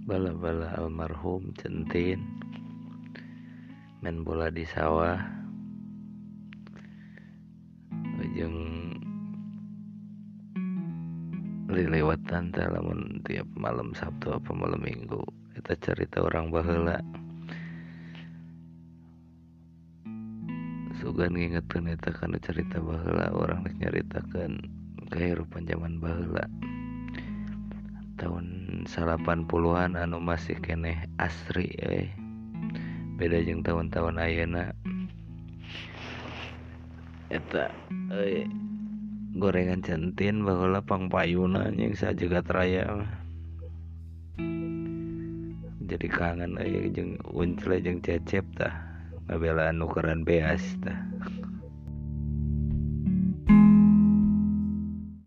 bala-bala almarhum Centin main bola di sawah jeung lilewatan teh lamun tiap malam Sabtu apa malam Minggu eta cerita orang baheula sugan ngingeteun eta kana cerita baheula orang rek nyaritakeun kahirupan zaman baheula tahun 80-an anu masih keneh asri beda jeung tahun-tahun ayeuna eta gorengan Centin baheula pangpayuna jeung sajagat raya jadi kangen jeung Uncle jeung Cecep tah ngabelaan nukeran beas tah